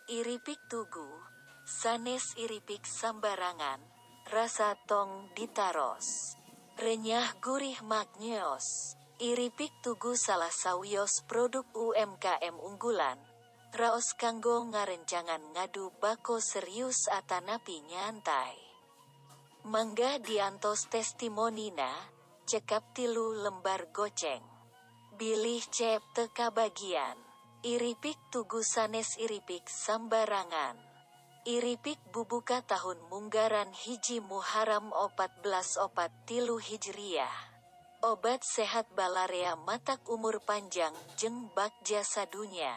Iripik tugu, sanes iripik sambarangan, rasa tong ditaros. Renyah gurih magneos. Iripik tugu salah sawios produk UMKM unggulan. Raos kanggo ngarencangan ngadu bako serius atanapi nyantai. Mangga diantos testimonina, cekap 3 lembar goceng. Bilih cep teka bagian. Iripik tugu sanes iripik sambarangan. Iripik bubuka tahun munggaran hiji Muharram 1443 Hijriah. Obat sehat balarea matak umur panjang jeung bagja sadunya.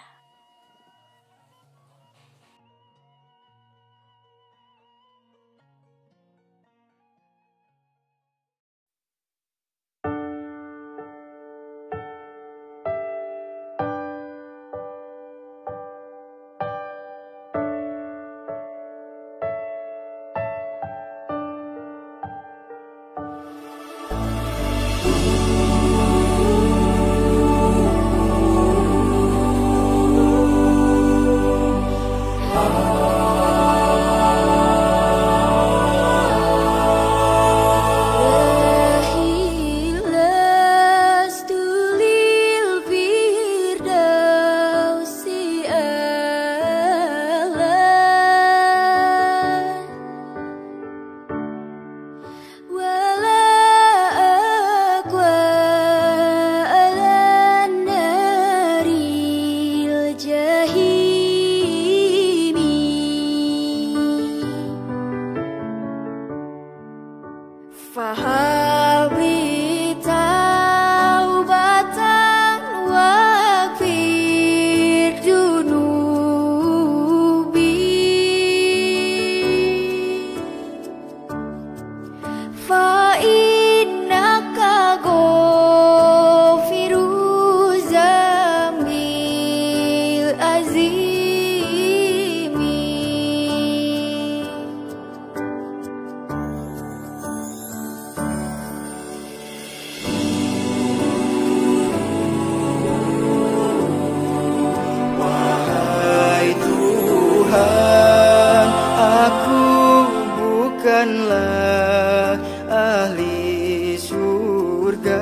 Bukanlah ahli surga,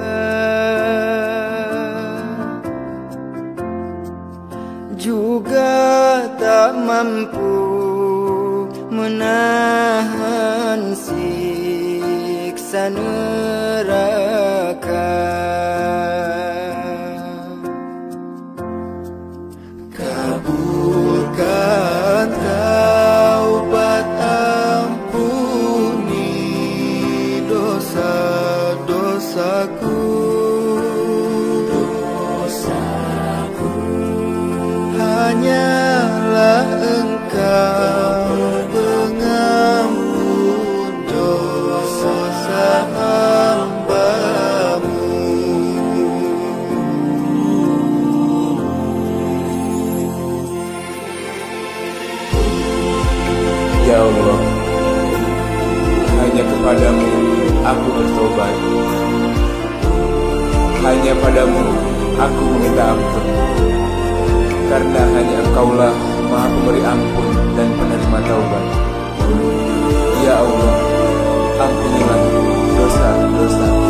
juga tak mampu menahan siksa neraka. Kabulkan taubat dosaku, hanyalah Engkau pengampun dosa hamba-Mu. Ya Allah, hanya kepadamu aku bertobat. Hanya padamu aku meminta ampun, karena hanya Engkaulah Maha Pemberi ampun dan penerima taubat. Ya Allah, ampunilah dosa-dosaku.